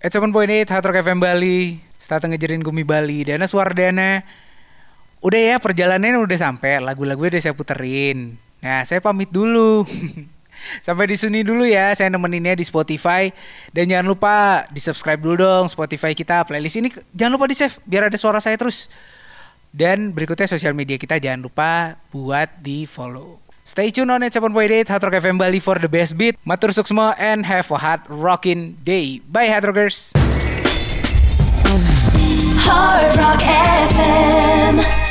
At 7.8 Hard Rock FM Bali, Stata ngejerin Gumi Bali, Dana Suardana. Udah ya, perjalanannya udah sampai, lagu-lagu udah saya puterin. Nah, saya pamit dulu. Sampai di sini dulu ya, saya nemeninnya di Spotify. Dan jangan lupa di-subscribe dulu dong Spotify kita. Playlist ini jangan lupa di-save biar ada suara saya terus. Dan berikutnya sosial media kita jangan lupa buat di-follow. Stay tune on at 7.8 Hard Rock FM Bali for the best beat. Matur suksma and have a hard rockin' day. Bye Hard Rockers. Hard Rock FM.